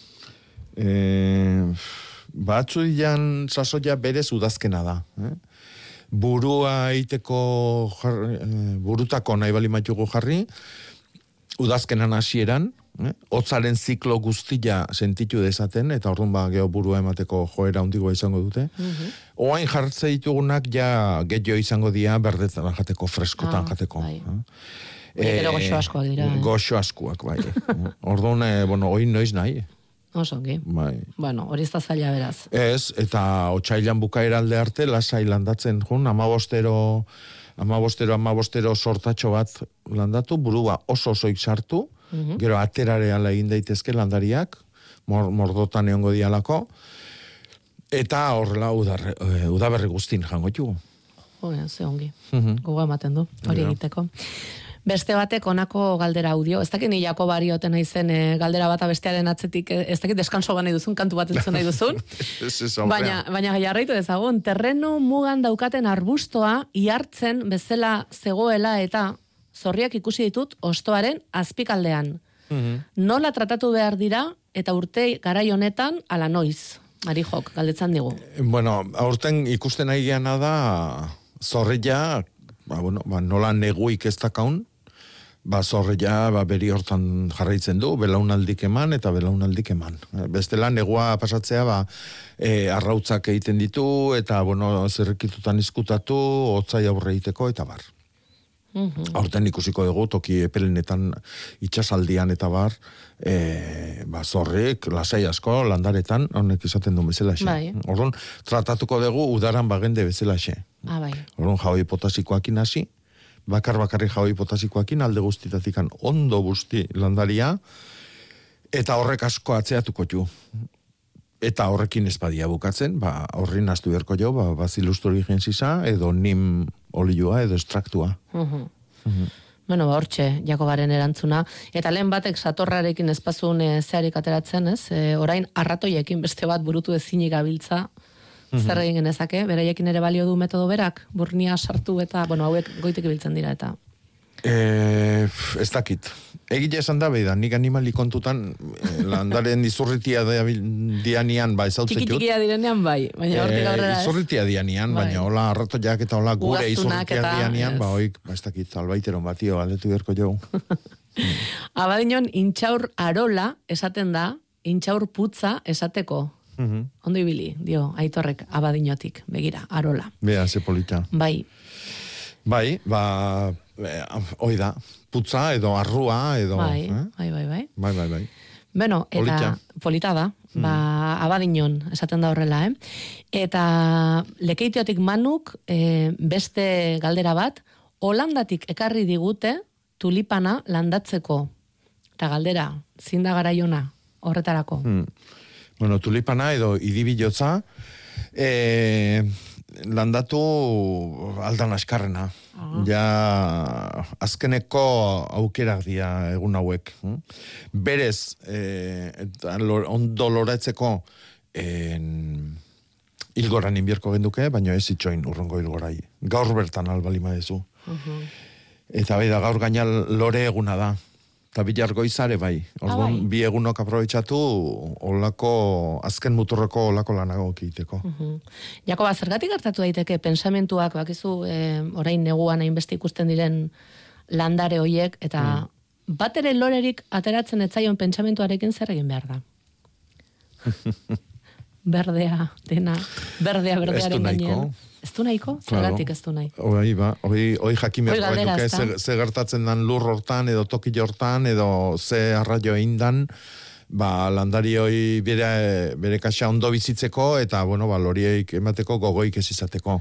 Baratxurian sasoia berez udazkena da. Burua eiteko burutako nahi bali maitugu jarri, udazkenan hasieran, hotzaren ziklo guztia sentitu dezaten, eta orduan geho burua emateko joera hundigoa izango dute. Oain jartze ditugunak gehiago izango dira berdetan jateko, freskotan jateko. Gero goxo askoak dira. Goxo askoak, bai. Orduan, oin noiz nahi. Osongi. Bai. Bueno, hori ez da zaila beraz. Ez, eta otsailan bukaera alde arte, lasai landatzen jun, amabostero sortatxo bat landatu, burua oso-osoik sartu, gero aterareala egin daitezke landariak, mordotan egongo dialako, eta horrela udaberri guztin jango txugu. Ze ongi. Gogoa ematen du, hori egiteko. Beste batek onako galdera audio, ez dakit ni Jakobari oten naizen galdera bata bestearen atzetik, ez dakit deskanso nahi duzun, kantu bat entzun nahi duzun, baina jarraitu dezagun, terreno mugan daukaten arbustoa ihartzen bezala zegoela eta zorriak ikusi ditut ostoaren azpikaldean. Nola tratatu behar dira eta urte garai honetan ala noiz? Marijok, galdetzan digu. Bueno, aurten ikusten nahi geana da zorria, nola neguik ez dakaun, zorreia beri hortan jarraitzen du, belaunaldik eman eta belaunaldik eman. Bestela negua pasatzea arrautzak egiten ditu eta zerrekitutan izkutatu, hotzai aurre egiteko eta bar. Horten ikusiko dugu, toki epelenetan itxasaldian eta bar, zorrek, lasai asko, landaretan, honek izaten du bezalaxe. Orduan, tratatuko dugu udaran bagende bezalaxe. Orduan, jaoi potasikoakin hasi, bakarri jaoi potasikoakin, alde guztitatikan ondo guzti landaria, eta horrek asko atzeatuko ju. Eta horrekin espadia bukatzen, horri naztu berko jo, bazilus turigensisa, edo nim olioa, edo estraktua. Bueno, hortxe, Jakobaren erantzuna. Eta lehen batek satorrarekin espazun zeharik ateratzen, ez? Orain, arratoiekin beste bat burutu ezinik gabiltza, zer egin genezake, beraiekin ere balio du metodo berak, burnia sartu eta, hauek goitek ibiltzen dira eta... Ez dakit. Egile esan da, beida, nik animali kontutan landaren izurritia dianian, ezautzen jut. Txikia direnean, baina hortik aurrera ez. Izurritia dianian, baina hola arratoiak eta hola gure izurritia dianian, ez dakit, albaiteron batio, aldetu berko jo. Abadinon, intxaur arola esaten da, intxaur putza esateko. Ondo ibili, dio, Aitorrek abadinotik, begira, arola. Bea, ze polita. Bai, hoi da, putza edo arrua edo... Bai. Bai. Beno, eta polita da, abadinon, esaten da horrela, Eta lekeitiotik manuk, beste galdera bat, Holandatik ekarri digute tulipana landatzeko. Eta galdera, zinda garaiona horretarako. Bueno, tulipana edo idibilotza, landatu aldan askarrena. Ja, azkeneko aukerak dira egun hauek. Berez, ondo loratzeko hilgoran inbierko genduke, baina ez itxoin urrongo hilgorai. Gaur bertan albalima dezu. Eta bai da, gaur gaina lore eguna da. Eta bilar goizare bai. Orduan, bi egunok aprobetsatu olako, azken muturreko olako lanago egiteko. Jakoba, zergatik hartatu daiteke pensamentuak, bakizu, orain neguan hainbeste ikusten diren landare hoiek, eta bat ere lorerik ateratzen etzaion pentsamentuarekin zer egin behar da? Berdea, dena, berdearen gainean. Ez du nahiko? Zergatik ez du nahi. Hoi jakin behar duke, ze gertatzen dan lur hortan, edo toki hortan, edo ze arraio eindan, landari hoi bere kaxa ondo bizitzeko, eta, lorieik emateko gogoik ez izateko.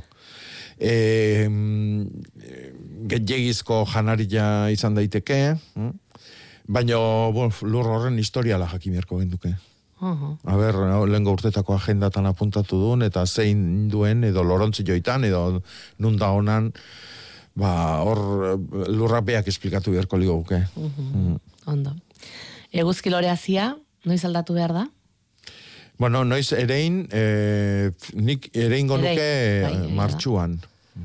Getjegizko janaria izan daiteke, baina lur horren historiala jakin beharko genduke. Lehenko urtetako agendatan apuntatu duen, eta zein duen, edo lorontzi joitan, edo nunda honan, hor lurrak beak esplikatu beharko ligo guke. Ondo. Eguzki loreazia, noiz aldatu behar da? Bueno, noiz erein, nik ereingo nuke martxuan.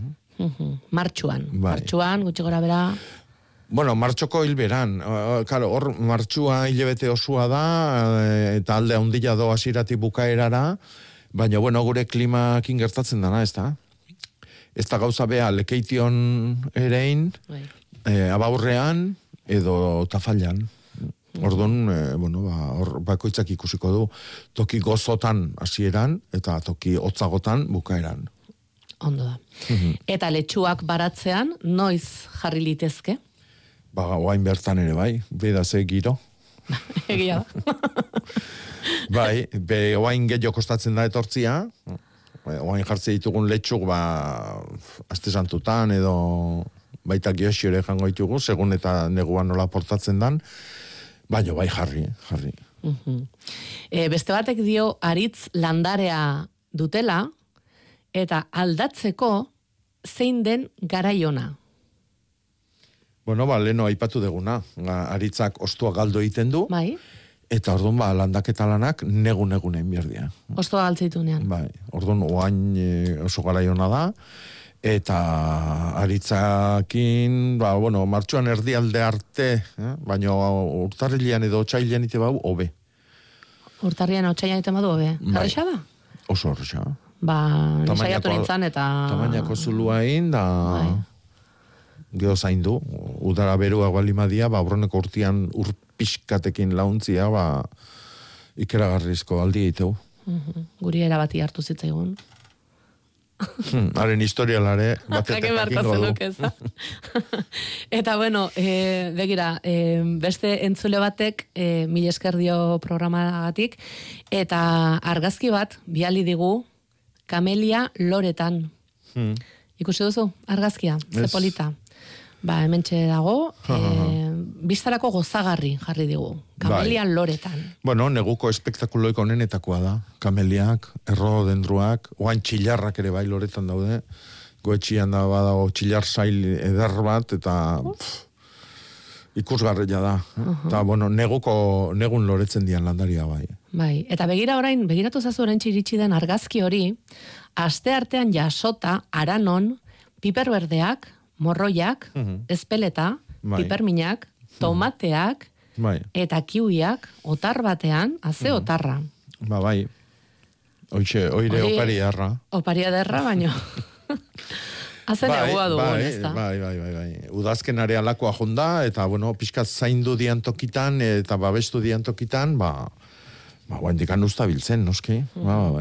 Martxuan, gutxi gora bera... Bueno, martxoko hilberan. Hor martxua hilebete osua da, eta alde handila do hasiratik bukaerara, baina, gure klimakin gertatzen dana, ez da? Ez da gauza bea lekeition erein, abaurrean, edo tafallan. Orduan, hor bakoitzak ikusiko du, toki gozotan hasieran, eta toki hotzagotan bukaeran. Ondo da. Eta letxuak baratzean, noiz jarri litezke? Oain bertan ere, bai. Beda ze giro. Egia da. Bai, oain gehiago kostatzen da etortzia. Oain jartze ditugun letxuk, aste santutan, edo baita geosiore jango ditugu, segun eta neguan nola portatzen dan. Baina, bai, jarri. Beste batek dio, aritz landarea dutela, eta aldatzeko zein den garaiona. Leheno aipatu deguna, aritzak ostua galdo egiten du, eta orduan landaketa lanak negun egin berdia. Ostua galtzeitunean. Orduan oain oso garaiona da, eta aritzakin, martxuan erdialde arte, baina urtarrilean edo otsailean ite bau, hobe. Urtarrilean otsailean ite badu, hobe? Arresa da? Oso arresa. Nisaiatu nintzen eta... Tamainako zuluain, da... geho zaindu, udara berua balimadia, aurreneko urtean urpiskatekin launtzia, ikeragarrizko aldi egiteu. Guri erabati hartu zitzaigun. Haren historialare batetak jakingo du. Eta bueno, begira, beste entzule batek mila esker dio programagatik, eta argazki bat biali digu Kamelia Loretan. Ikusi duzu argazkia, ze polita. Hementxe dago, biztarako gozagarri jarri digu. Kamelia Loretan. Bueno, neguko espektakuloiko onenetakoa da. Kameliak, errodendruak, oain txilarrak ere bai Loretan daude. Goetxian da badago txilar zail eder bat, eta ikusgarria da. Eta, bueno, negun loretzen dian landaria bai. Bai, eta begiratu zazu oraintxe iritsi den argazki hori, aste artean jasota, aranon, piper berdeak, morroiak, espeleta, piperminak, tomateak, eta kiwiak, otar batean, haze otarra. Bai, oire opari erra. Opari ederra, baino. Haze negua dugun, ez da? Bai. Udazken area lakoa jonda, eta, bueno, pixkat zaindu dian tokitan, eta babestu dian tokitan, guandikan ustabiltzen, noski? Bai.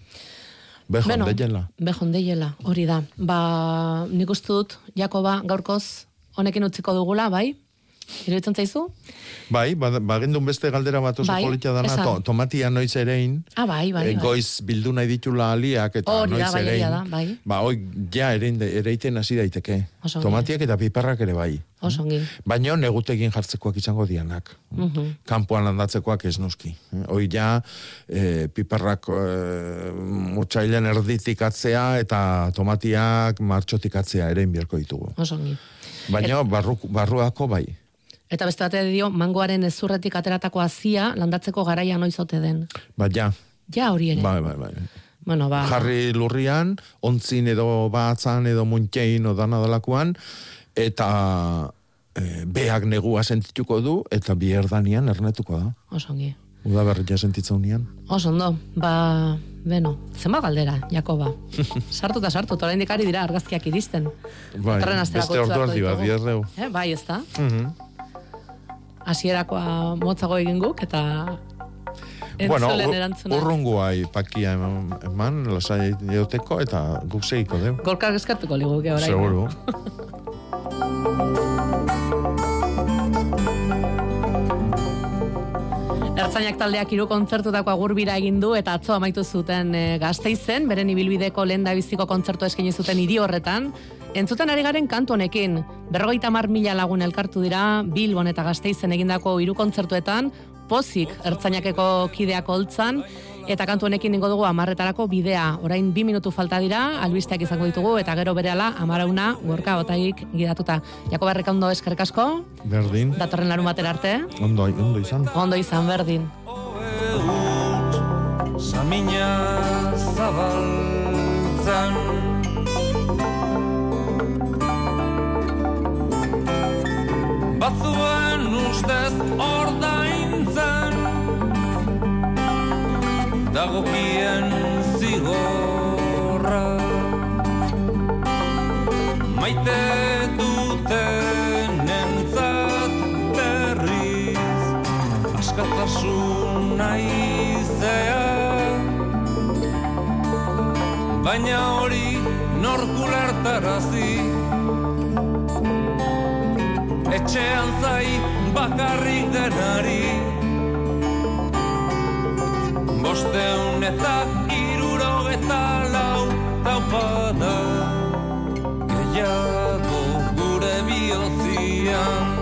Behondeiela, hori da. Nik uste dut, Jakoba, gaurkoz, honekin utziko dugula, bai? Iruditzen zaizu? Bai, bagendun beste galdera bat oso politia dana, tomatia noiz erein, goiz bildu nahi ditula aliak, eta noiz erein. Hoi, ja ereiten hasi daiteke. Tomatiak eta piperrak ere bai. Osongi. Baina negutekin jartzekoak izango dianak. Kanpoan landatzekoak ez noski. Hoi ja, piperrak murtsailen erditik atzea, eta tomatiak martxotik atzea erein bierko ditugu. Osongi. Baina barruako bai. Eta beste bate dio, mangoaren ezurretik ateratako hazia landatzeko garaia noizote den. Ja. Ja hori ere. Bai. Bueno, jarri lurrian, ontzin edo batzan edo muntxein odana dalakoan, eta beak negua sentituko du, eta bi erdanian ernetuko da. Osongi. Uda berria sentitza unian. Osondo, zenba galdera, Jakoba. Sartu, oraindik ari dira argazkiak iristen. Bai, beste ordu ardi bat, biarreu. Bai, ez da? Hasierakoa motzago egin guk, eta entzulen erantzuna. Urrungoa pakia eman, lasai eoteko, eta guk segiko deu. Gorka eskartuko liguke orain. Seguro. Ertzainak taldeak 3 kontzertutako agurbira egin du, eta atzo amaitu zuten Gasteizen, beren ibilbideko lehendabiziko kontzertu eskaini zuten hiri horretan. Entzuten ari garen kantu honekin, 50.000 lagun elkartu dira Bilbon eta Gasteizen egindako 3 kontzertuetan, pozik ertzainakeko kideak holtzan, eta kantu honekin ningo dugu 10:00 bidea. Orain 2 minutu falta dira, albisteak izango ditugu, eta gero berehala 11:00 Gorka Otaik gidatuta. Jakoba Errekaondo, eskerrik asko. Berdin. Datorren larunbatera arte. Ondo izan. Ondo izan, berdin. Samina zabaltzan batzuen ustez ordaintzen dagokien zigorra maite duten entzat berriz askatasun naizea baina hori norkulertarazi etxean zai bakarrik denari 574 taupada gehiago gure bihotzian